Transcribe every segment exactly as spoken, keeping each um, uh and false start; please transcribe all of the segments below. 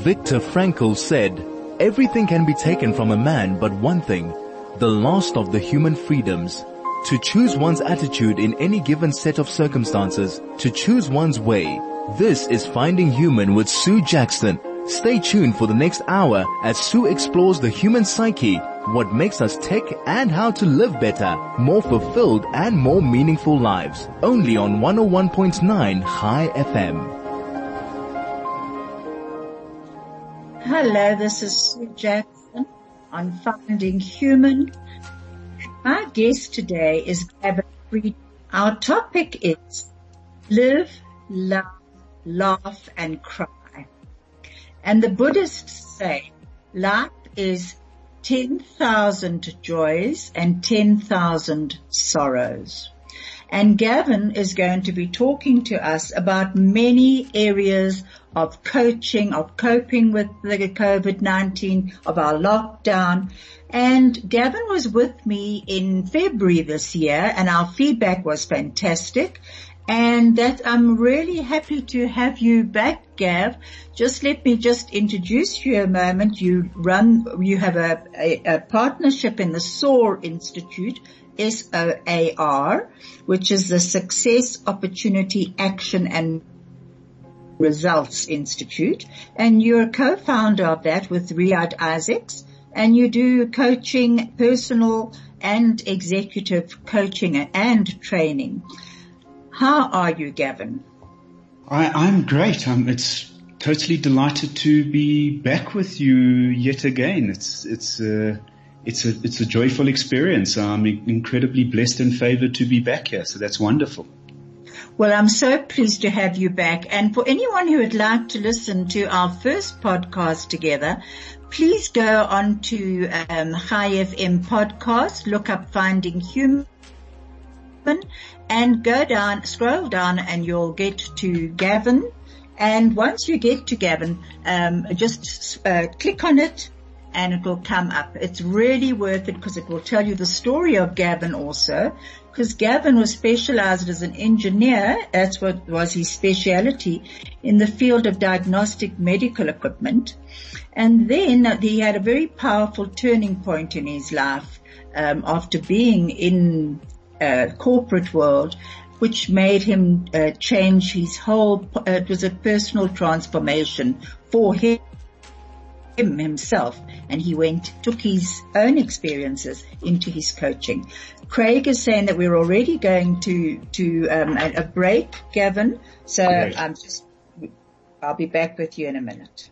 Viktor Frankl said, "Everything can be taken from a man but one thing, the last of the human freedoms. To choose one's attitude in any given set of circumstances, to choose one's way." This is Finding Human with Sue Jackson. Stay tuned for the next hour as Sue explores the human psyche, what makes us tick, and how to live better, more fulfilled and more meaningful lives. Only on one oh one point nine High F M. Hello, this is Sue Jackson on Finding Human. My guest today is Gavin Friedman. Our topic is live, love, laugh and cry. And the Buddhists say life is ten thousand joys and ten thousand sorrows. And Gavin is going to be talking to us about many areas of coaching, of coping with the COVID nineteen, of our lockdown. And Gavin was with me in February this year, and our feedback was fantastic. And that I'm really happy to have you back, Gav. Just let me just introduce you a moment. You run, you have a, a, a partnership in the SOAR Institute, S O A R, which is the Success, Opportunity, Action and Results Institute. And you're a co-founder of that with Riyadh Isaacs. And you do coaching, personal and executive coaching and training. How are you, Gavin? I, I'm great. I'm, it's totally delighted to be back with you yet again. It's it's a it's a it's a joyful experience. I'm incredibly blessed and favored to be back here. So that's wonderful. Well, I'm so pleased to have you back. And for anyone who would like to listen to our first podcast together, please go on to um, High F M podcast, look up Finding Human, and go down, scroll down, and you'll get to Gavin. And once you get to Gavin, um, just uh, click on it, and it will come up. It's really worth it because it will tell you the story of Gavin also. Because Gavin was specialized as an engineer, that's what was his specialty, in the field of diagnostic medical equipment. And then he had a very powerful turning point in his life um, after being in uh, corporate world, which made him uh, change his whole, uh, it was a personal transformation for him. him himself, and he went, took his own experiences into his coaching. Craig is saying that we're already going to, to, um, a, a break, Gavin. So Great. I'm just, I'll be back with you in a minute.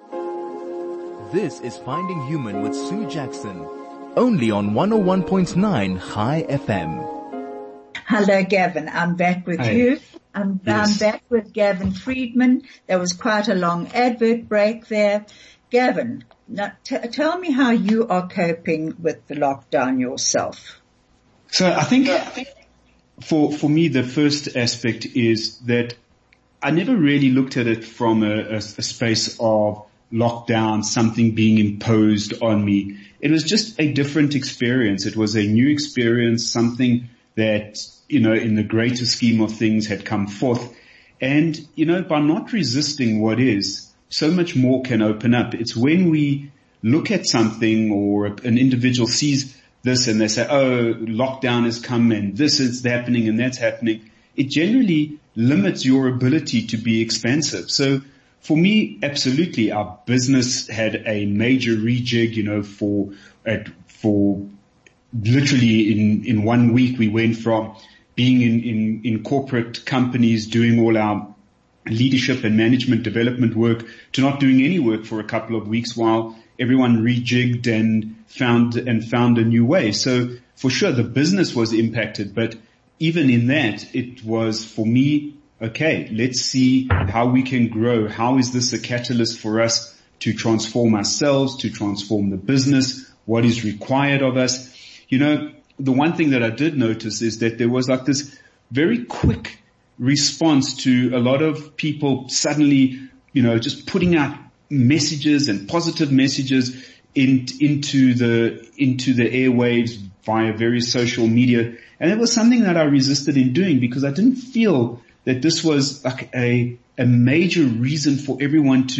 This is Finding Human with Sue Jackson. Only on one oh one point nine High F M. Hello, Gavin. I'm back with Hi. you. I'm, Yes. I'm back with Gavin Friedman. There was quite a long advert break there. Gavin, now t- tell me how you are coping with the lockdown yourself. So I think for for me the first aspect is that I never really looked at it from a, a, a space of lockdown, something being imposed on me. It was just a different experience. It was a new experience, something that, you know, in the greater scheme of things had come forth. And, you know, by not resisting what is, so much more can open up. It's when we look at something or an individual sees this and they say, oh, lockdown has come and this is happening and that's happening. It generally limits your ability to be expansive. So for me, absolutely, our business had a major rejig, you know, for, uh, for literally in, in one week we went from being in, in, in corporate companies doing all our leadership and management development work to not doing any work for a couple of weeks while everyone rejigged and found and found a new way. So for sure the business was impacted, but even in that it was for me, okay, let's see how we can grow. How is this a catalyst for us to transform ourselves, to transform the business? What is required of us? You know, the one thing that I did notice is that there was like this very quick response to a lot of people suddenly, you know, just putting out messages and positive messages in, into the, into the airwaves via various social media. And it was something that I resisted in doing because I didn't feel that this was like a, a major reason for everyone to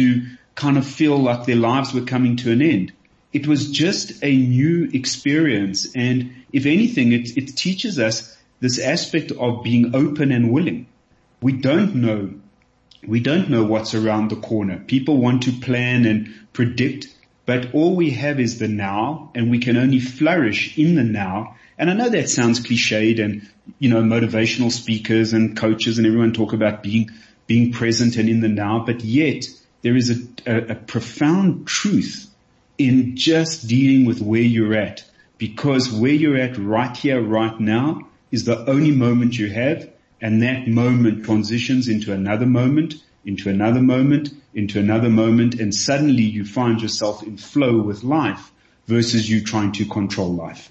kind of feel like their lives were coming to an end. It was just a new experience. And if anything, it, it teaches us this aspect of being open and willing. We don't know. We don't know what's around the corner. People want to plan and predict, but all we have is the now, and we can only flourish in the now. And I know that sounds cliched, and, you know, motivational speakers and coaches and everyone talk about being, being present and in the now, but yet there is a, a, a profound truth in just dealing with where you're at, because where you're at right here, right now is the only moment you have, and that moment transitions into another moment, into another moment, into another moment, and suddenly you find yourself in flow with life versus you trying to control life.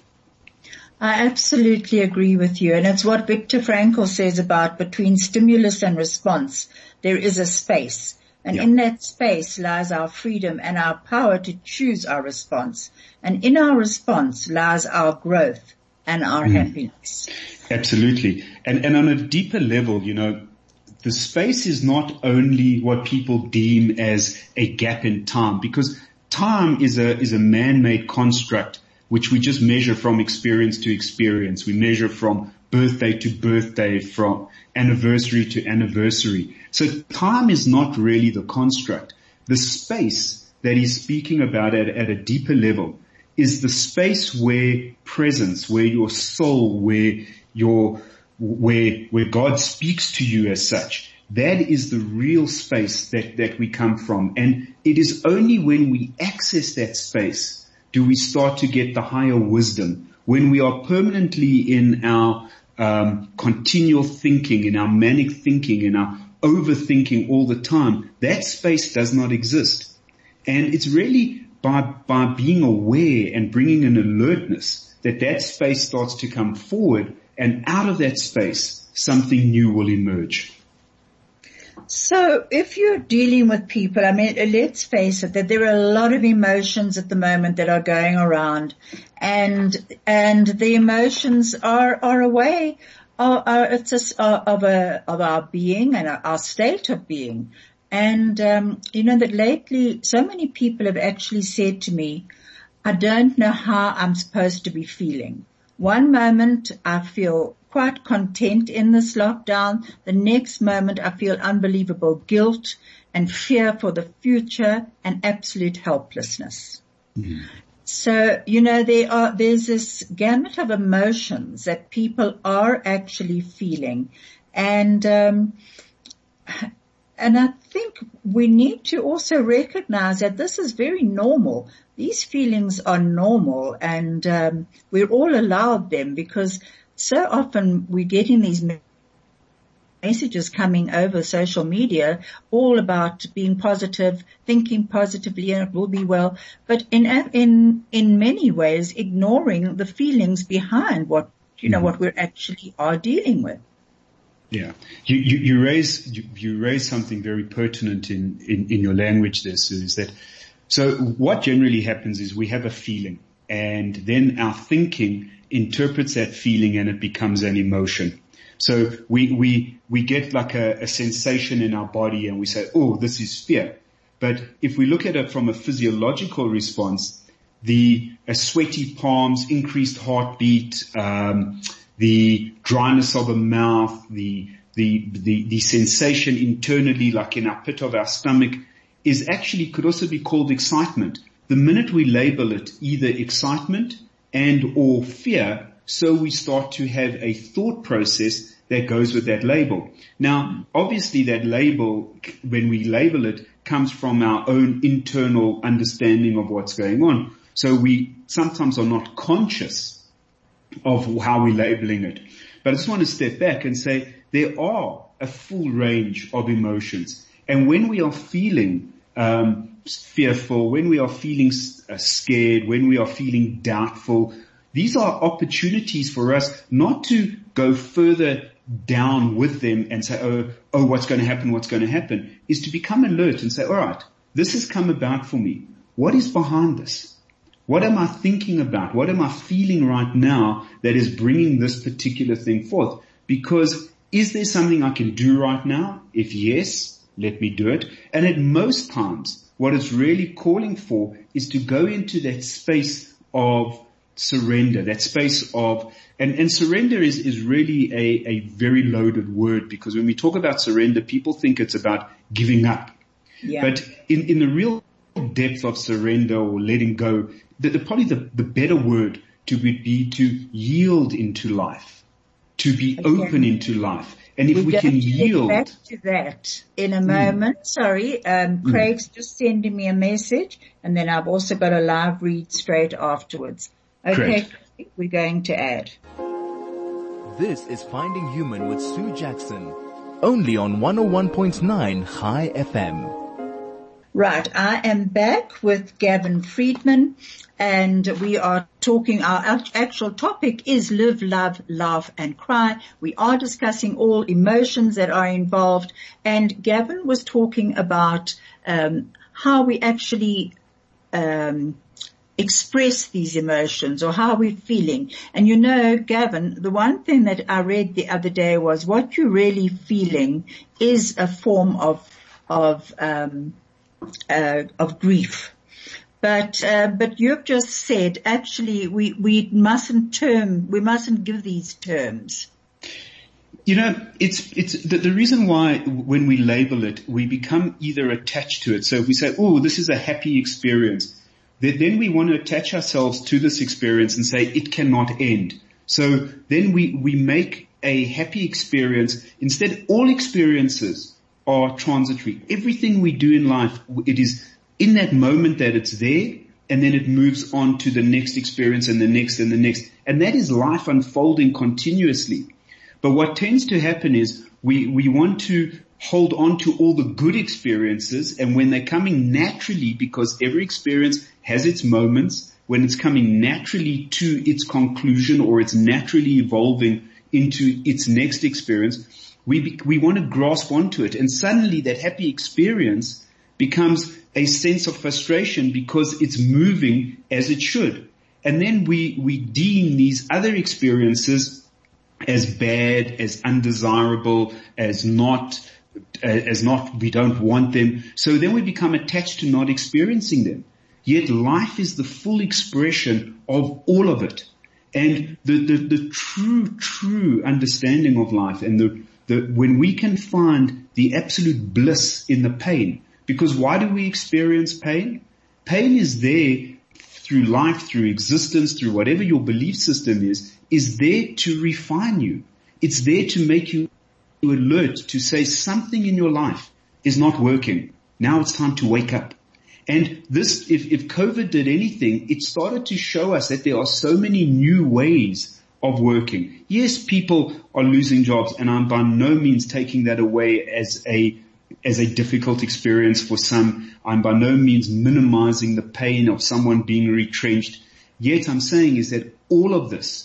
I absolutely agree with you. And it's what Viktor Frankl says about between stimulus and response. There is a space. And yeah. in that space lies our freedom and our power to choose our response. And in our response lies our growth and our mm. happiness. Absolutely. And, and on a deeper level, you know, the space is not only what people deem as a gap in time, because time is a, is a man-made construct which we just measure from experience to experience. We measure from birthday to birthday, from anniversary to anniversary. So time is not really the construct. The space that he's speaking about at, at a deeper level is the space where presence, where your soul, where your, where, where God speaks to you as such. That is the real space that, that we come from. And it is only when we access that space do we start to get the higher wisdom. When we are permanently in our um, continual thinking, in our manic thinking, in our overthinking all the time, that space does not exist. And it's really by, by being aware and bringing an alertness that that space starts to come forward, and out of that space, something new will emerge. So if you're dealing with people, I mean, let's face it, that there are a lot of emotions at the moment that are going around, and, and the emotions are, are a way, are, are, it's a, of a, of our being and our state of being. And, um, you know, that lately so many people have actually said to me, I don't know how I'm supposed to be feeling. One moment I feel quite content in this lockdown. The next moment I feel unbelievable guilt and fear for the future and absolute helplessness. Mm-hmm. So, you know, there are, there's this gamut of emotions that people are actually feeling. And, um, and I think we need to also recognize that this is very normal. These feelings are normal, and, um, we're all allowed them, because so often we're getting these messages coming over social media all about being positive, thinking positively, and it will be well, but in, in, in many ways ignoring the feelings behind what, you know, mm-hmm. what we're actually are dealing with. Yeah. You, you, you raise, you, you raise something very pertinent in, in, in your language there, Sue, is that, so what generally happens is we have a feeling, and then our thinking interprets that feeling and it becomes an emotion. So we, we, we get like a, a sensation in our body and we say, oh, this is fear. But if we look at it from a physiological response, the uh, sweaty palms, increased heartbeat, um, the dryness of the mouth, the, the, the, the sensation internally, like in our pit of our stomach, is actually could also be called excitement. The minute we label it either excitement and or fear, so we start to have a thought process that goes with that label. Now, obviously that label, when we label it, comes from our own internal understanding of what's going on. So we sometimes are not conscious of how we're labeling it. But I just want to step back and say there are a full range of emotions. And when we are feeling um fearful, when we are feeling uh, scared, when we are feeling doubtful, these are opportunities for us not to go further down with them and say, oh, oh, what's going to happen, what's going to happen, is to become alert and say, all right, this has come about for me. What is behind this? What am I thinking about? What am I feeling right now that is bringing this particular thing forth? Because is there something I can do right now? If yes, let me do it. And at most times, what it's really calling for is to go into that space of surrender, that space of, and, and surrender is, is really a, a very loaded word, because when we talk about surrender, people think it's about giving up. Yeah. But in, in the real depth of surrender or letting go, the, the probably the, the better word to be, be to yield into life, to be Okay. open into life. And if We're we going can to yield, get back to that in a moment. Mm. Sorry, um, Craig's mm. just sending me a message, and then I've also got a live read straight afterwards. Okay, Craig, we're going to add. This is Finding Human with Sue Jackson, only on one oh one point nine High F M. Right, I am back with Gavin Friedman, and we are talking, our actual topic is live, love, laugh, and cry. We are discussing all emotions that are involved, and Gavin was talking about um, how we actually um, express these emotions, or how we're feeling. And you know, Gavin, the one thing that I read the other day was what you're really feeling is a form of of um Uh, of grief. But, uh, but you've just said actually we, we mustn't term, we mustn't give these terms. You know, it's, it's the, the reason why when we label it, we become either attached to it. So if we say, oh, this is a happy experience, then, then we want to attach ourselves to this experience and say it cannot end. So then we, we make a happy experience. Instead, all experiences are transitory. Everything we do in life, it is in that moment that it's there, and then it moves on to the next experience and the next and the next. And that is life unfolding continuously. But what tends to happen is we, we want to hold on to all the good experiences, and when they're coming naturally, because every experience has its moments, when it's coming naturally to its conclusion or it's naturally evolving into its next experience, We be, we want to grasp onto it, and suddenly that happy experience becomes a sense of frustration because it's moving as it should. And then we, we deem these other experiences as bad, as undesirable, as not, as not, we don't want them. So then we become attached to not experiencing them. Yet life is the full expression of all of it. And the, the, the true, true understanding of life, and the The, when we can find the absolute bliss in the pain, because why do we experience pain? Pain is there through life, through existence, through whatever your belief system is, is there to refine you. It's there to make you alert, to say something in your life is not working. Now it's time to wake up. And this, if, if COVID did anything, it started to show us that there are so many new ways of working. Yes, people are losing jobs, and I'm by no means taking that away as a as a difficult experience for some. I'm by no means minimizing the pain of someone being retrenched. Yet I'm saying is that all of this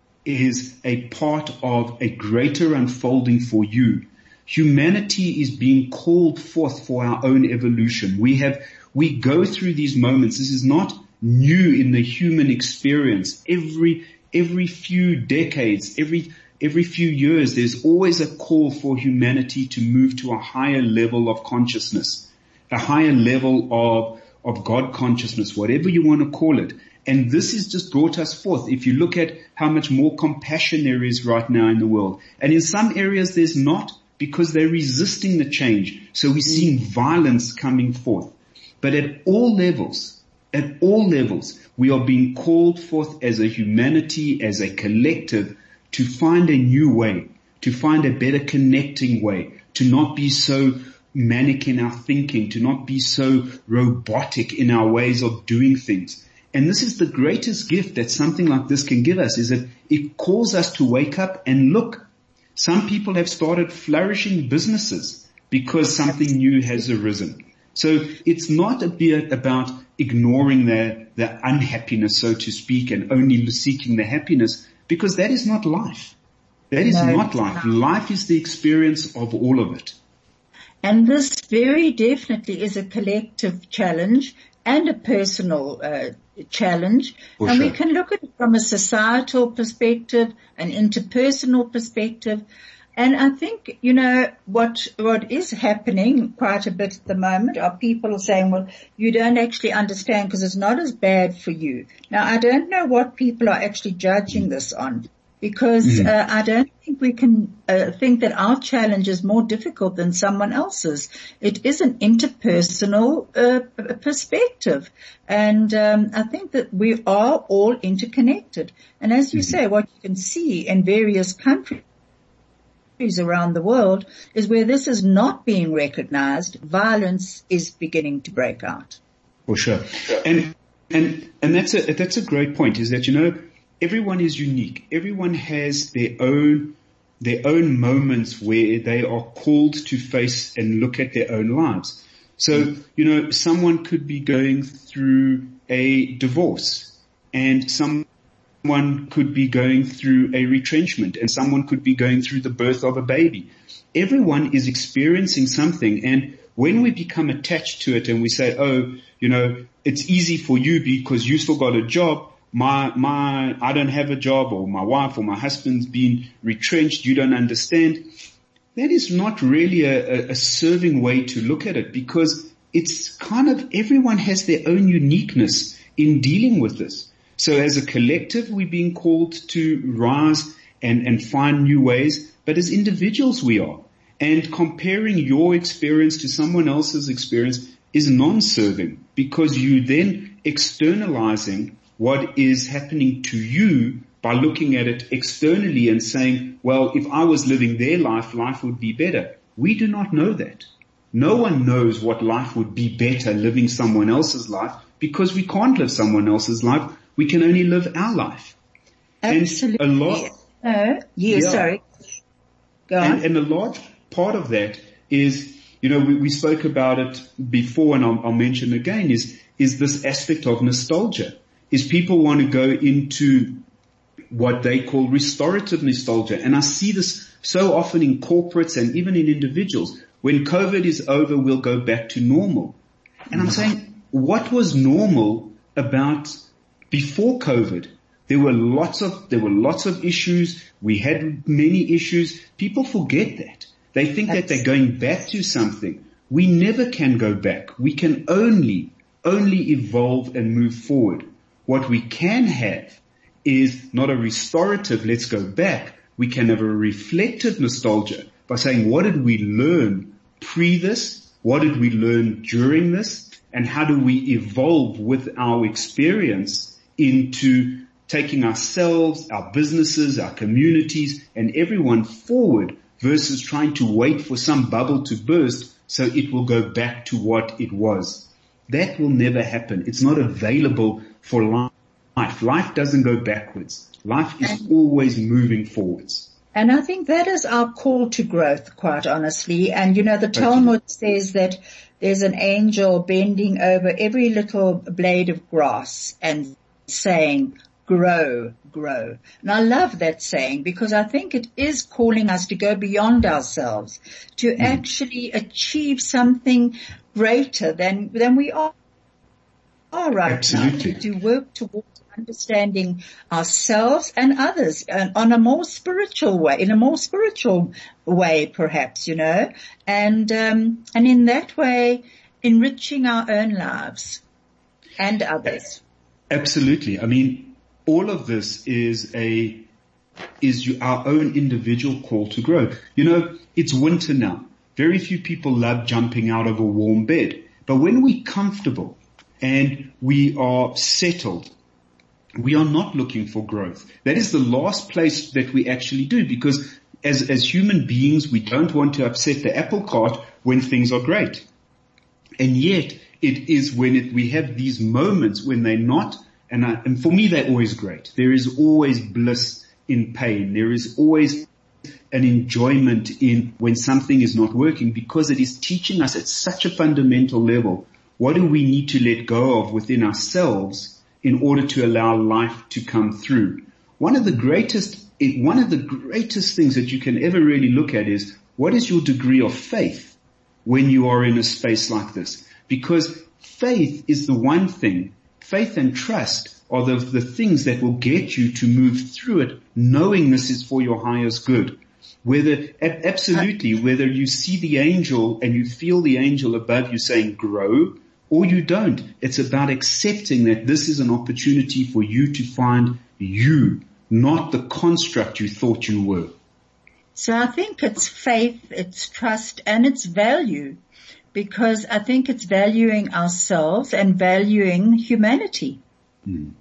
is a part of a greater unfolding for you. Humanity is being called forth for our own evolution. We have we go through these moments. This is not new in the human experience. Every Every few decades, every, every few years, there's always a call for humanity to move to a higher level of consciousness, a higher level of, of God consciousness, whatever you want to call it. And this has just brought us forth. If you look at how much more compassion there is right now in the world. And in some areas there's not, because they're resisting the change. So we're seeing violence coming forth. But at all levels, at all levels, we are being called forth as a humanity, as a collective, to find a new way, to find a better connecting way, to not be so manic in our thinking, to not be so robotic in our ways of doing things. And this is the greatest gift that something like this can give us, is that it calls us to wake up and look. Some people have started flourishing businesses because something new has arisen. So it's not a bit about ignoring the, the unhappiness, so to speak, and only seeking the happiness, because that is not life. That is no, not life. Not. Life is the experience of all of it. And this very definitely is a collective challenge and a personal uh, challenge. For and sure. We can look at it from a societal perspective, an interpersonal perspective. And I think, you know, what, what is happening quite a bit at the moment are people saying, well, you don't actually understand because it's not as bad for you. Now, I don't know what people are actually judging this on, because mm-hmm. uh, I don't think we can uh, think that our challenge is more difficult than someone else's. It is an interpersonal uh, perspective. And um, I think that we are all interconnected. And as you mm-hmm. say, what you can see in various countries around the world is where this is not being recognized, violence is beginning to break out. For sure. And, and, and that's a, that's a great point, is that, you know, everyone is unique. Everyone has their own, their own moments where they are called to face and look at their own lives. So, you know, someone could be going through a divorce, and some Someone could be going through a retrenchment, and someone could be going through the birth of a baby. Everyone is experiencing something, and when we become attached to it and we say, oh, you know, it's easy for you because you still got a job, my, my, I don't have a job, or my wife or my husband's been retrenched, you don't understand. That is not really a, a, a serving way to look at it, because it's kind of, everyone has their own uniqueness in dealing with this. So as a collective, we're being called to rise and, and find new ways, but as individuals we are. And comparing your experience to someone else's experience is non-serving, because you then externalizing what is happening to you by looking at it externally and saying, well, if I was living their life, life would be better. We do not know that. No one knows what life would be better living someone else's life, because we can't live someone else's life. We can only live our life. Absolutely. And a lot, uh, yeah, yeah, sorry. Go on. And, and a large part of that is, you know, we, we spoke about it before, and I'll, I'll mention again, is, is this aspect of nostalgia. Is people want to go into what they call restorative nostalgia. And I see this so often in corporates and even in individuals. When COVID is over, we'll go back to normal. And I'm saying, what was normal about before COVID? There were lots of, there were lots of issues. We had many issues. People forget that. They think That's... that they're going back to something. We never can go back. We can only, only evolve and move forward. What we can have is not a restorative, let's go back. We can have a reflective nostalgia by saying, what did we learn pre this? What did we learn during this? And how do we evolve with our experience into taking ourselves, our businesses, our communities, and everyone forward, versus trying to wait for some bubble to burst so it will go back to what it was. That will never happen. It's not available for life. Life doesn't go backwards. Life is always moving forwards. And I think that is our call to growth, quite honestly. And you know, the Talmud says that there's an angel bending over every little blade of grass and saying, grow, grow. And I love that saying, because I think it is calling us to go beyond ourselves, to mm. actually achieve something greater than, than we are, are right Absolutely. now, to, to work towards understanding ourselves and others uh, on a more spiritual way, in a more spiritual way, perhaps, you know, and, um, and in that way, enriching our own lives and others. Absolutely. I mean, all of this is a, is our own individual call to grow. You know, it's winter now. Very few people love jumping out of a warm bed, but when we're comfortable and we are settled, we are not looking for growth. That is the last place that we actually do, because as, as human beings, we don't want to upset the apple cart when things are great. And yet it is when it, we have these moments when they're not, and, I, and for me, they're always great. There is always bliss in pain. There is always an enjoyment in when something is not working, because it is teaching us at such a fundamental level, what do we need to let go of within ourselves in order to allow life to come through. One of the greatest, one of the greatest things that you can ever really look at is, what is your degree of faith when you are in a space like this? Because faith is the one thing, faith and trust are the, the things that will get you to move through it, knowing this is for your highest good. Whether, a- absolutely, whether you see the angel and you feel the angel above you saying grow, or you don't. It's about accepting that this is an opportunity for you to find you, not the construct you thought you were. So I think it's faith, it's trust, and it's value, because I think it's valuing ourselves and valuing humanity. Mm.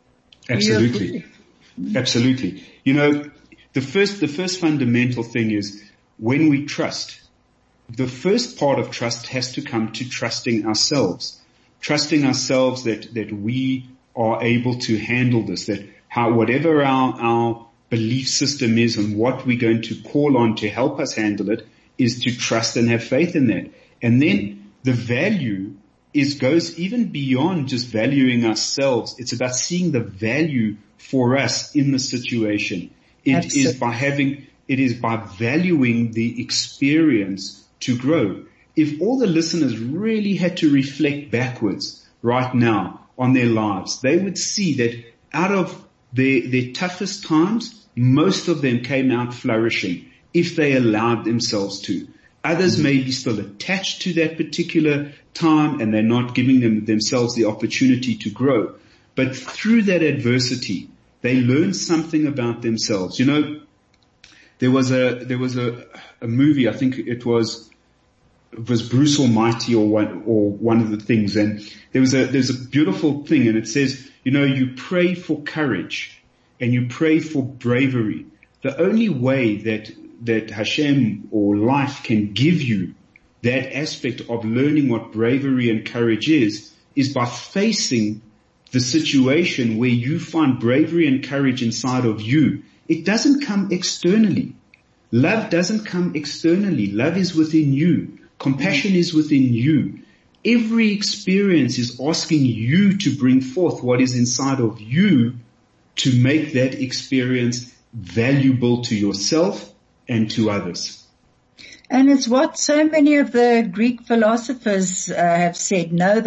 Absolutely. Absolutely. You know, the first, the first fundamental thing is when we trust, the first part of trust has to come to trusting ourselves, trusting ourselves that, that we are able to handle this, that how, whatever our, our belief system is and what we're going to call on to help us handle it is to trust and have faith in that. And then the value is, goes even beyond just valuing ourselves. It's about seeing the value for us in the situation. It Absolutely. is by having, it is by valuing the experience to grow. If all the listeners really had to reflect backwards right now on their lives, they would see that out of their, their toughest times, most of them came out flourishing if they allowed themselves to. Others may be still attached to that particular time and they're not giving them themselves the opportunity to grow. But through that adversity, they learn something about themselves. You know, there was a, there was a, a movie, I think it was, it was Bruce Almighty or one, or one of the things. And there was a, there's a beautiful thing and it says, you know, you pray for courage and you pray for bravery. The only way that, that Hashem or life can give you that aspect of learning what bravery and courage is, is by facing the situation where you find bravery and courage inside of you. It doesn't come externally. Love doesn't come externally. Love is within you. Compassion is within you. Every experience is asking you to bring forth what is inside of you to make that experience valuable to yourself and to others. And it's what so many of the Greek philosophers uh, have said, know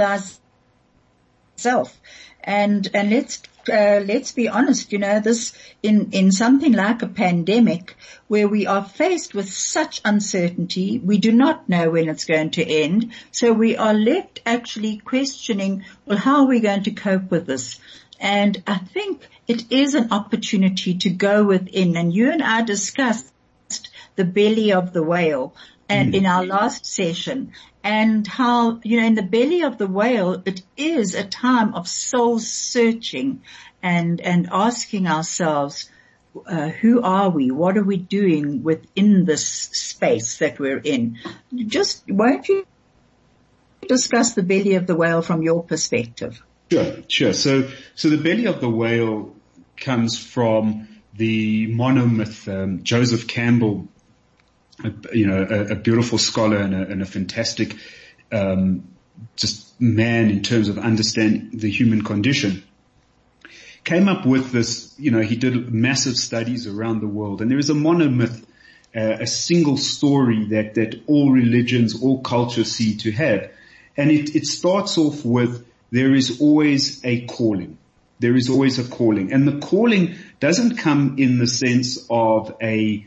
thyself. And, and let's, uh, let's be honest, you know, this, in, in something like a pandemic where we are faced with such uncertainty, we do not know when it's going to end. So we are left actually questioning, well, how are we going to cope with this? And I think it is an opportunity to go within. And you and I discussed the belly of the whale and in our last session, and how, you know, in the belly of the whale, it is a time of soul searching and, and asking ourselves, uh, who are we? What are we doing within this space that we're in? Just, won't you discuss the belly of the whale from your perspective? Sure, sure. So, so the belly of the whale comes from the monomyth, um, Joseph Campbell, a, you know, a, a beautiful scholar and a, and a fantastic, um, just man in terms of understanding the human condition, came up with this. You know, he did massive studies around the world, and there is a monomyth, uh, a single story that that all religions, all cultures see to have, and it it starts off with there is always a calling. There is always a calling, and the calling doesn't come in the sense of a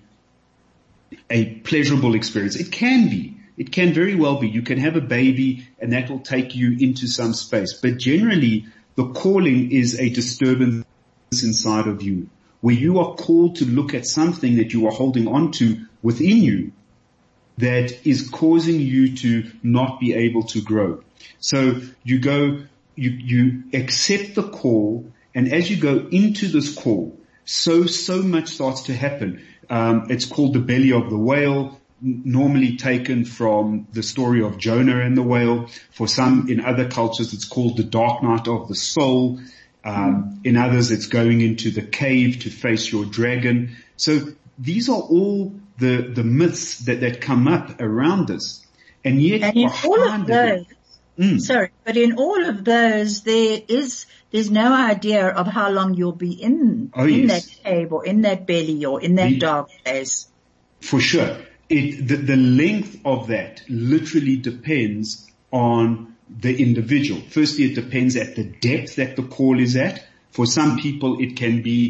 a pleasurable experience. It can be. It can very well be. You can have a baby and that will take you into some space. But generally, the calling is a disturbance inside of you, where you are called to look at something that you are holding on to within you that is causing you to not be able to grow. So you go, you, you accept the call, and as you go into this call, so, so much starts to happen. Um, it's called the belly of the whale, n- normally taken from the story of Jonah and the whale. For some, in other cultures, it's called the dark night of the soul. Um, in others, it's going into the cave to face your dragon. So these are all the, the myths that, that come up around us. And yet, and in all of those, Mm. Sorry, but in all of those, there is, there's no idea of how long you'll be in, oh, in yes. that cave or in that belly or in that the, dark place. For sure. It, the, the length of that literally depends on the individual. Firstly, it depends at the depth that the call is at. For some people, it can be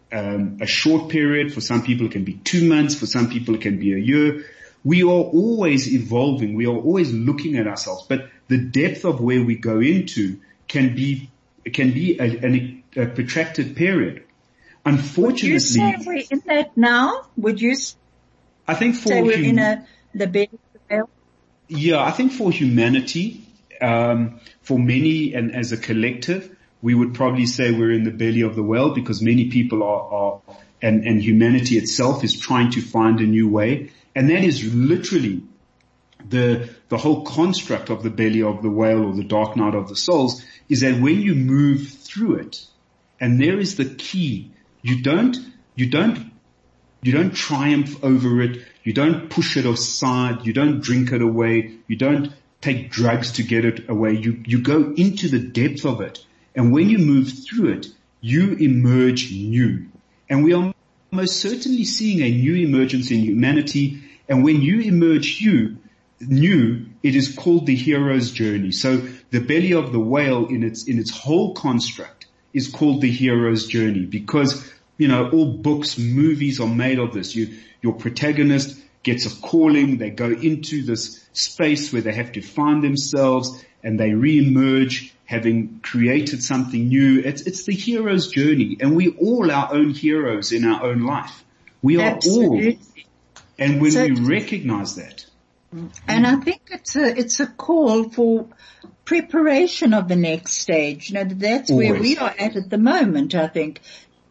um, a short period. For some people it can be two months. For some people it can be a year. We are always evolving. We are always looking at ourselves, but the depth of where we go into can be, can be a, a, a protracted period. Unfortunately, would you say we're in that now? Would you I think for say we're hum- in a, the bed of the whale? Yeah, I think for humanity, um, for many and as a collective, we would probably say we're in the belly of the whale because many people are, are and, and humanity itself is trying to find a new way. And that is literally the, the whole construct of the belly of the whale or the dark night of the souls is that when you move through it, and there is the key, you don't, you don't, you don't triumph over it. You don't push it aside. You don't drink it away. You don't take drugs to get it away. You, you go into the depth of it. And when you move through it, you emerge new. And we are most certainly seeing a new emergence in humanity. And when you emerge you, new, it is called the hero's journey. So the belly of the whale in its, in its whole construct is called the hero's journey because, you know, all books, movies are made of this. You, your protagonist gets a calling. They go into this space where they have to find themselves and they re-emerge having created something new. It's, it's the hero's journey, and we're all our own heroes in our own life. We are Absolutely. all. And when So- we recognize that. And I think it's a, it's a call for preparation of the next stage. You know, that's where Always. we are at at the moment, I think.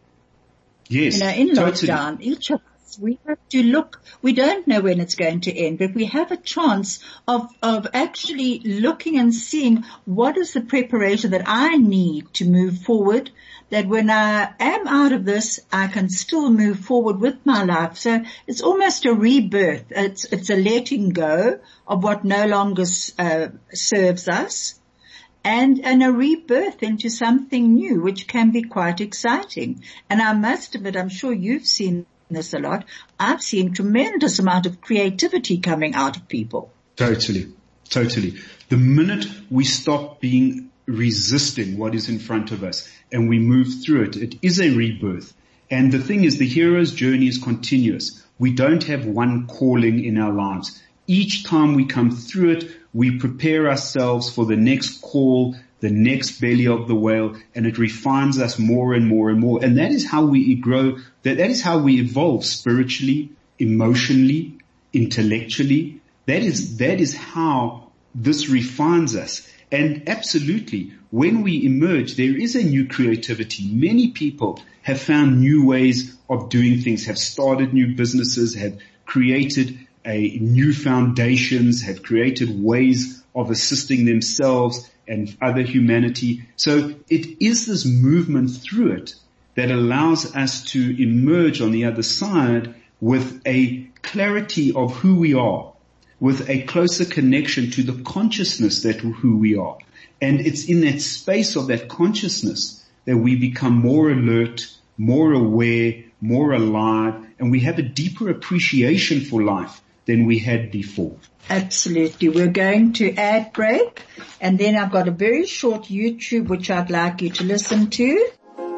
Yes. You know, in totally. lockdown, each of us, we have to look, we don't know when it's going to end, but we have a chance of, of actually looking and seeing what is the preparation that I need to move forward, that when I am out of this, I can still move forward with my life. So it's almost a rebirth. It's, it's a letting go of what no longer uh, serves us. And, and a rebirth into something new, which can be quite exciting. And I must admit, I'm sure you've seen this a lot. I've seen tremendous amount of creativity coming out of people. Totally. Totally. The minute we stop being resisting what is in front of us and we move through it, it is a rebirth. And the thing is, the hero's journey is continuous. We don't have one calling in our lives. Each time we come through it, we prepare ourselves for the next call, the next belly of the whale, and it refines us more and more and more. And that is how we grow, that, that is how we evolve spiritually, emotionally, intellectually. That is, that is how this refines us. And absolutely, when we emerge, there is a new creativity. Many people have found new ways of doing things, have started new businesses, have created a new foundations, have created ways of assisting themselves and other humanity. So it is this movement through it that allows us to emerge on the other side with a clarity of who we are, with a closer connection to the consciousness that who we are. And it's in that space of that consciousness that we become more alert, more aware, more alive, and we have a deeper appreciation for life than we had before. Absolutely. We're going to ad break, and then I've got a very short YouTube which I'd like you to listen to.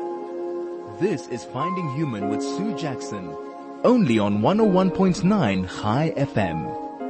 This is Finding Human with Sue Jackson, only on one oh one point nine High F M.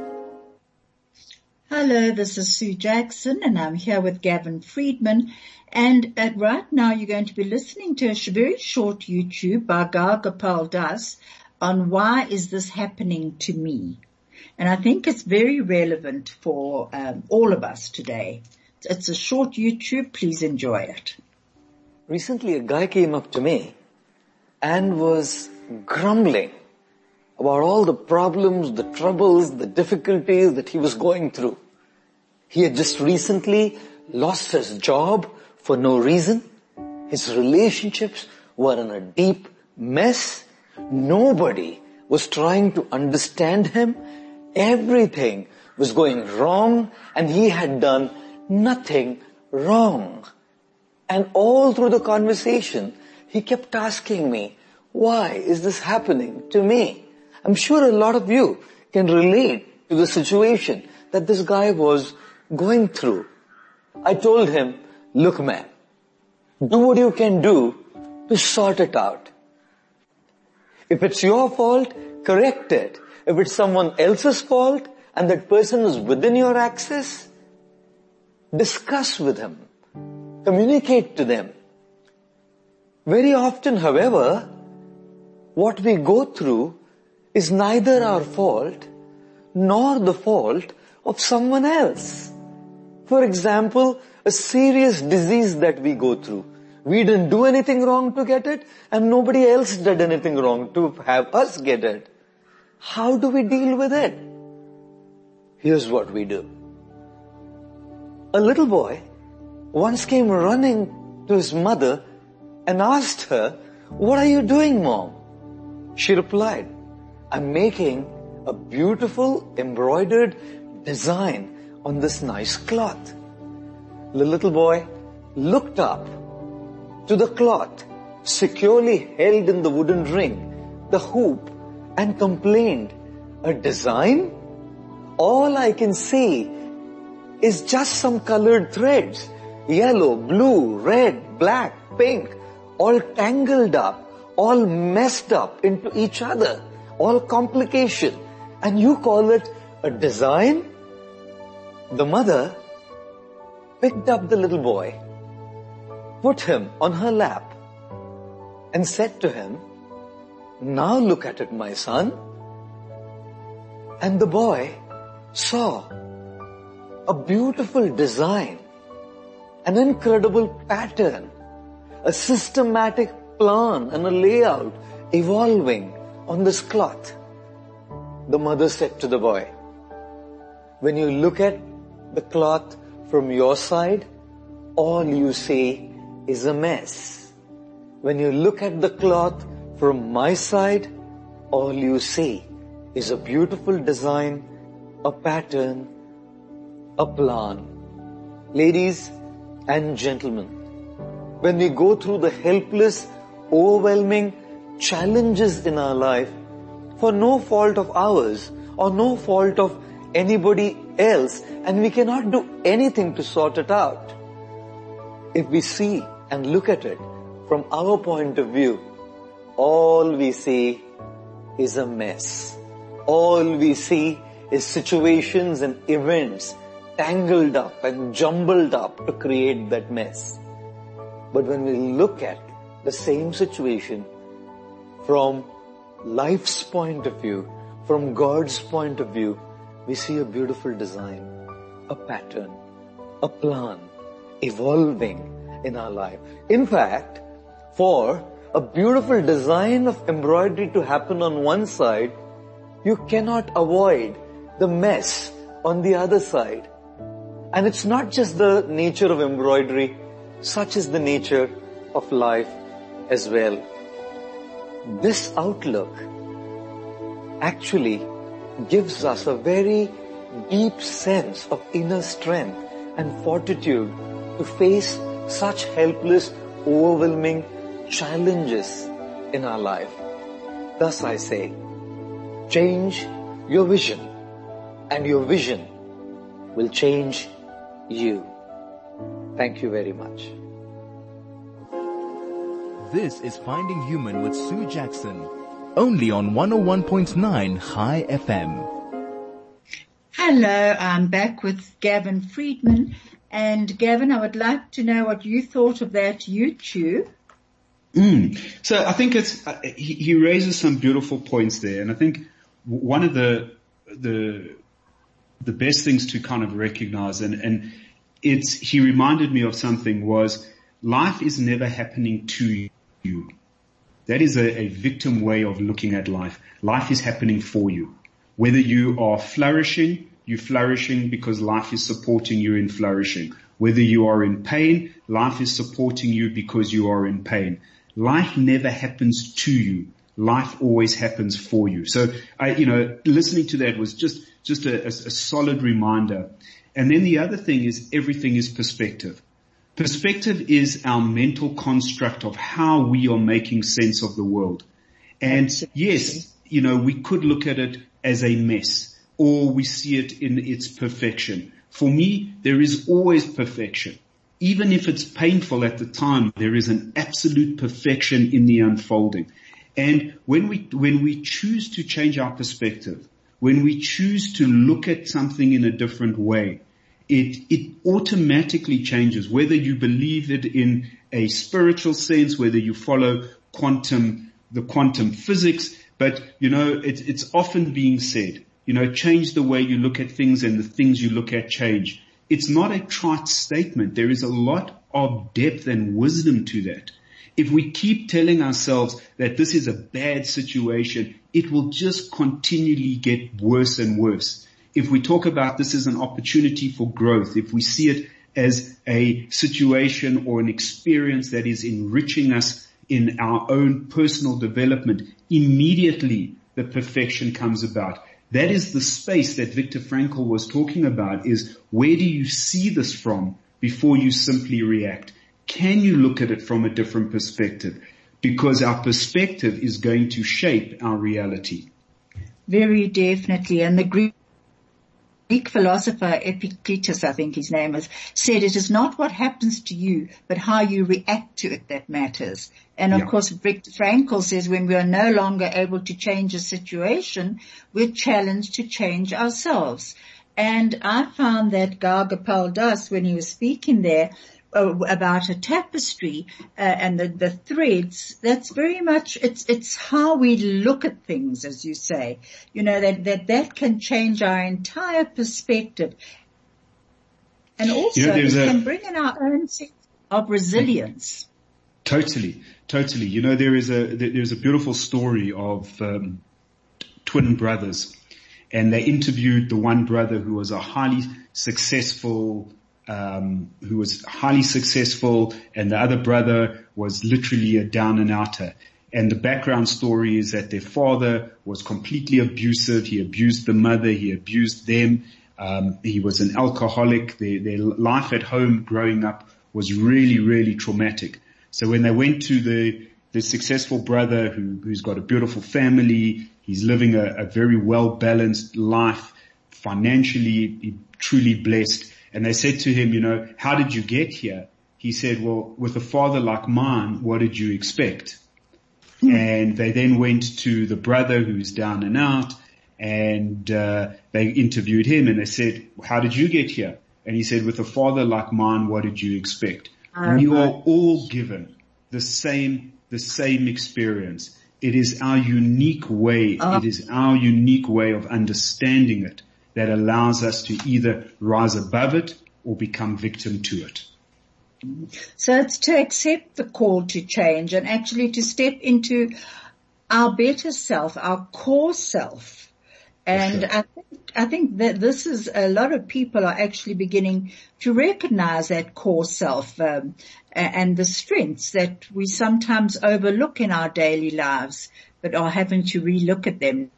Hello, this is Sue Jackson, and I'm here with Gavin Friedman. And uh, right now you're going to be listening to a sh- very short YouTube by Gal Gopal Das on why is this happening to me. And I think it's very relevant for um, all of us today. It's a short YouTube. Please enjoy it. Recently, a guy came up to me and was grumbling about all the problems, the troubles, the difficulties that he was going through. He had just recently lost his job for no reason. His relationships were in a deep mess. Nobody was trying to understand him. Everything was going wrong, and he had done nothing wrong. And all through the conversation, he kept asking me, why is this happening to me? I'm sure a lot of you can relate to the situation that this guy was going through. I told him, look man, do what you can do to sort it out. If it's your fault, correct it. If it's someone else's fault and that person is within your access, discuss with him. Communicate to them. Very often, however, what we go through is neither our fault nor the fault of someone else. For example, a serious disease that we go through. We didn't do anything wrong to get it, and nobody else did anything wrong to have us get it. How do we deal with it? Here's what we do. A little boy once came running to his mother and asked her, "What are you doing, Mom?" She replied, "I'm making a beautiful embroidered design on this nice cloth." The little boy looked up to the cloth, securely held in the wooden ring, the hoop, and complained, "A design? All I can see is just some colored threads, yellow, blue, red, black, pink, all tangled up, all messed up into each other, all complication, and you call it a design?" The mother picked up the little boy, put him on her lap, and said to him, "Now look at it, my son." And the boy saw a beautiful design, an incredible pattern, a systematic plan and a layout evolving on this cloth. The mother said to the boy, "When you look at the cloth from your side, all you see is a mess. When you look at the cloth from my side, all you see is a beautiful design, a pattern, a plan." Ladies and gentlemen, when we go through the helpless, overwhelming challenges in our life, for no fault of ours or no fault of anybody else, and we cannot do anything to sort it out, if we see and look at it from our point of view, all we see is a mess. All we see is situations and events tangled up and jumbled up to create that mess. But when we look at the same situation from life's point of view, from God's point of view, we see a beautiful design, a pattern, a plan evolving in our life. In fact, for a beautiful design of embroidery to happen on one side, you cannot avoid the mess on the other side. And it's not just the nature of embroidery, such is the nature of life as well. This outlook actually gives us a very deep sense of inner strength and fortitude to face such helpless, overwhelming challenges in our life. Thus I say, change your vision, and your vision will change you. Thank you very much. This is Finding Human with Sue Jackson, only on one oh one point nine High F M. Hello, I'm back with Gavin Friedman. And Gavin, I would like to know what you thought of that YouTube. Mm. So I think it's, uh, he, he raises some beautiful points there. And I think one of the, the, the best things to kind of recognize, and, and it's, he reminded me of something, was life is never happening to you. That is a, a victim way of looking at life. Life is happening for you. Whether you are flourishing, you're flourishing because life is supporting you in flourishing. Whether you are in pain, life is supporting you because you are in pain. Life never happens to you. Life always happens for you. So, I, you know, listening to that was just, just a, a, a solid reminder. And then the other thing is everything is perspective. Perspective is our mental construct of how we are making sense of the world. And yes, you know, we could look at it as a mess, or we see it in its perfection. For me, there is always perfection. Even if it's painful at the time, there is an absolute perfection in the unfolding. And when we, when we choose to change our perspective, when we choose to look at something in a different way, it, it automatically changes, whether you believe it in a spiritual sense, whether you follow quantum, the quantum physics. But, you know, it, it's often being said, you know, change the way you look at things and the things you look at change. It's not a trite statement. There is a lot of depth and wisdom to that. If we keep telling ourselves that this is a bad situation, it will just continually get worse and worse. If we talk about this as an opportunity for growth, if we see it as a situation or an experience that is enriching us in our own personal development, immediately the perfection comes about. That is the space that Viktor Frankl was talking about, is where do you see this from before you simply react? Can you look at it from a different perspective? Because our perspective is going to shape our reality. Very definitely. And the Greek Greek philosopher Epictetus, I think his name is, said it is not what happens to you, but how you react to it that matters. And of yeah. course, Viktor Frankl says when we are no longer able to change a situation, we're challenged to change ourselves. And I found that Gaur Gopal Das, when he was speaking there, Uh, about a tapestry uh, and the, the threads, that's very much, it's it's how we look at things, as you say. You know, that that, that can change our entire perspective. And also, you know, it a, can bring in our own sense of resilience. Totally, totally. You know, there is a there's a beautiful story of um, twin brothers, and they interviewed the one brother who was a highly successful Um, who was highly successful, and the other brother was literally a down and outer. And the background story is that their father was completely abusive. He abused the mother. He abused them. Um, he was an alcoholic. Their, their life at home growing up was really, really traumatic. So when they went to the, the successful brother who, who's got a beautiful family, he's living a, a very well-balanced life, financially truly blessed. And they said to him, you know, how did you get here? He said, well, with a father like mine, what did you expect? Hmm. And they then went to the brother who's down and out, and uh, they interviewed him, and they said, how did you get here? And he said, with a father like mine, what did you expect? Uh-huh. We are all given the same, the same experience. It is our unique way. Uh-huh. It is our unique way of understanding it that allows us to either rise above it or become victim to it. So it's to accept the call to change and actually to step into our better self, our core self. And sure. I think, I think that this is, a lot of people are actually beginning to recognize that core self, um, and the strengths that we sometimes overlook in our daily lives, but are having to relook at them.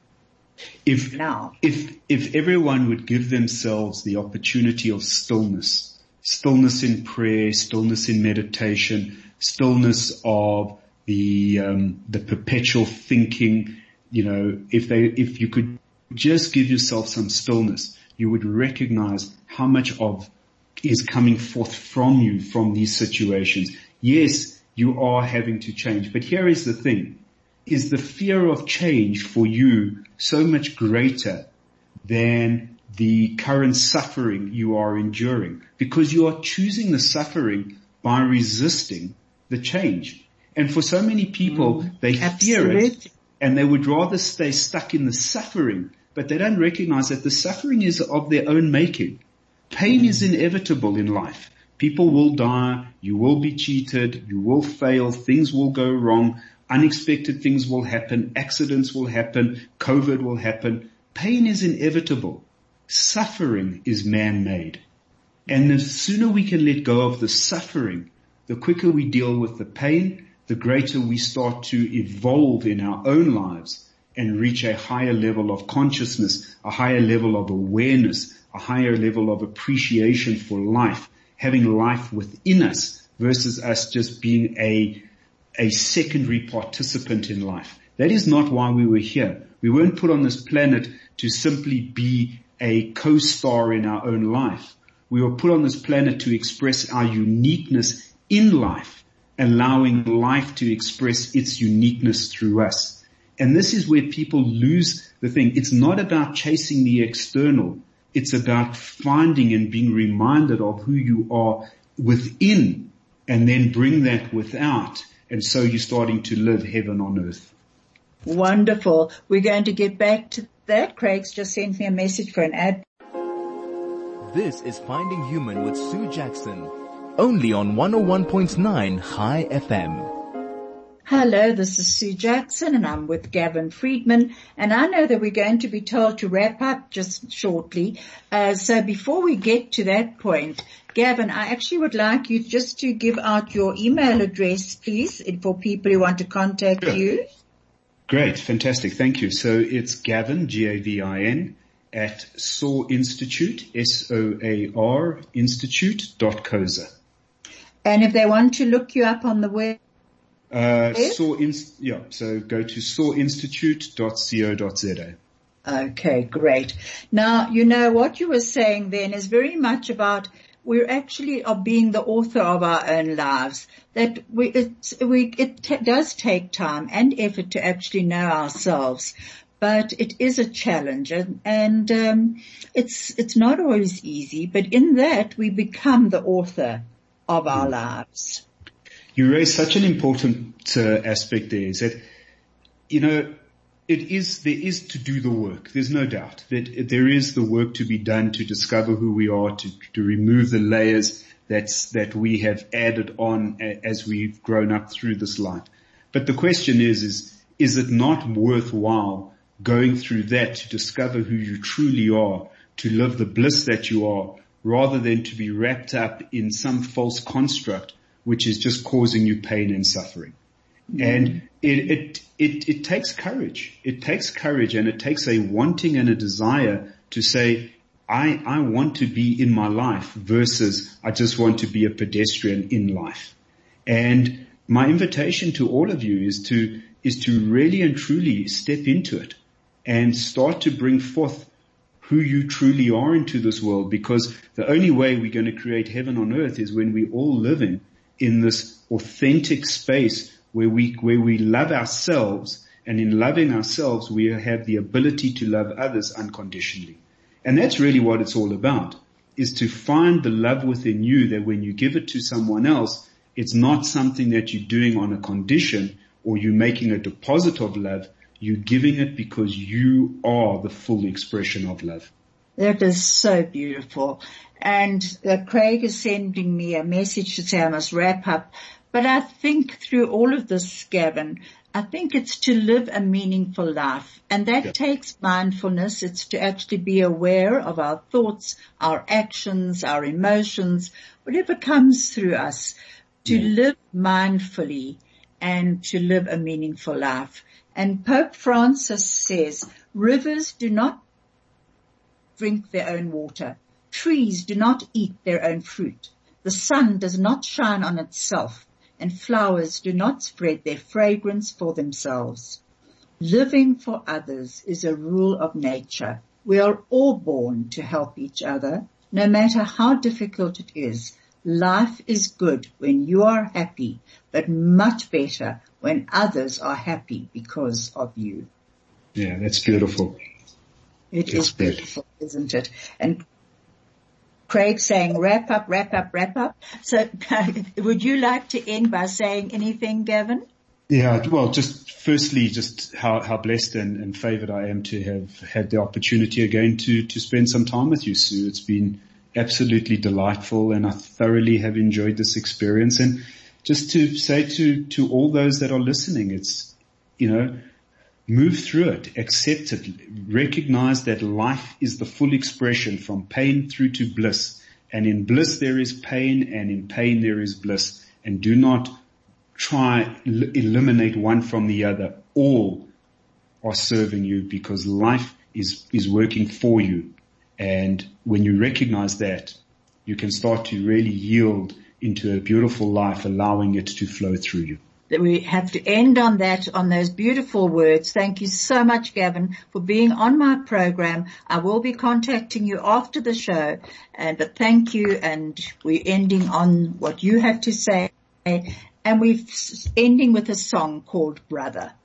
If, now. if, if everyone would give themselves the opportunity of stillness, stillness in prayer, stillness in meditation, stillness of the, um, the perpetual thinking, you know, if they, if you could just give yourself some stillness, you would recognize how much of is coming forth from you from these situations. Yes, you are having to change, but here is the thing. Is the fear of change for you so much greater than the current suffering you are enduring? Because you are choosing the suffering by resisting the change. And for so many people, mm, they fear it and they would rather stay stuck in the suffering, but they don't recognize that the suffering is of their own making. Pain mm. is inevitable in life. People will die. You will be cheated. You will fail. Things will go wrong. Unexpected things will happen. Accidents will happen. COVID will happen. Pain is inevitable. Suffering is man-made. And the sooner we can let go of the suffering, the quicker we deal with the pain, the greater we start to evolve in our own lives and reach a higher level of consciousness, a higher level of awareness, a higher level of appreciation for life, having life within us versus us just being a a secondary participant in life. That is not why we were here. We weren't put on this planet to simply be a co-star in our own life. We were put on this planet to express our uniqueness in life allowing life to express its uniqueness through us. And this is where people lose the thing. It's not about chasing the external. It's about finding and being reminded of who you are within, and then bring that without. And so you're starting to live heaven on earth. Wonderful. We're going to get back to that. Craig's just sent me a message for an ad. This is Finding Human with Sue Jackson, only on one oh one point nine High F M. Hello, this is Sue Jackson and I'm with Gavin Friedman, and I know that we're going to be told to wrap up just shortly. Uh, so before we get to that point, Gavin, I actually would like you just to give out your email address, please, for people who want to contact Sure. you. Great. Fantastic. Thank you. So it's Gavin, G A V I N, at Soar Institute, S O A R, institute dot co dot za. And if they want to look you up on the web, Uh, Soar Inst- yeah, so go to soar institute dot co dot za. Okay, great. Now, you know, what you were saying then is very much about we're actually are being the author of our own lives. That we, it's, we, it t- does take time and effort to actually know ourselves, but it is a challenge, and, and um, it's it's not always easy. But in that, we become the author of our lives. You raise such an important uh, aspect there, is that, you know, it is, there is to do the work. There's no doubt that there is the work to be done to discover who we are, to, to remove the layers that's, that we have added on as we've grown up through this life. But the question is, is, is it not worthwhile going through that to discover who you truly are, to live the bliss that you are, rather than to be wrapped up in some false construct which is just causing you pain and suffering. Mm. And it, it, it, it takes courage. It takes courage, and it takes a wanting and a desire to say, I, I want to be in my life versus I just want to be a pedestrian in life. And my invitation to all of you is to, is to really and truly step into it and start to bring forth who you truly are into this world, because the only way we're going to create heaven on earth is when we all live in in this authentic space where we, where we love ourselves, and in loving ourselves, we have the ability to love others unconditionally. And that's really what it's all about, is to find the love within you that when you give it to someone else, it's not something that you're doing on a condition or you're making a deposit of love. You're giving it because you are the full expression of love. That is so beautiful. And uh, Craig is sending me a message to say I must wrap up. But I think through all of this, Gavin, I think it's to live a meaningful life. And that yeah. takes mindfulness. It's to actually be aware of our thoughts, our actions, our emotions, whatever comes through us, to yeah. live mindfully and to live a meaningful life. And Pope Francis says, rivers do not drink their own water. Trees do not eat their own fruit. The sun does not shine on itself, and flowers do not spread their fragrance for themselves. Living for others is a rule of nature. We are all born to help each other, no matter how difficult it is. Life is good when you are happy, but much better when others are happy because of you. Yeah, that's beautiful. It that's is beautiful, good. Isn't it? And Craig saying, wrap up, wrap up, wrap up. So would you like to end by saying anything, Gavin? Yeah, well, just firstly, just how, how blessed and, and favored I am to have had the opportunity again to, to spend some time with you, Sue. It's been absolutely delightful, and I thoroughly have enjoyed this experience. And just to say to, to all those that are listening, it's, you know, move through it, accept it, recognize that life is the full expression from pain through to bliss. And in bliss there is pain, and in pain there is bliss. And do not try l- eliminate one from the other. All are serving you because life is, is working for you. And when you recognize that, you can start to really yield into a beautiful life, allowing it to flow through you. We have to end on that, on those beautiful words. Thank you so much, Gavin, for being on my program. I will be contacting you after the show, and but thank you, and we're ending on what you have to say. and we're ending with a song called Brother.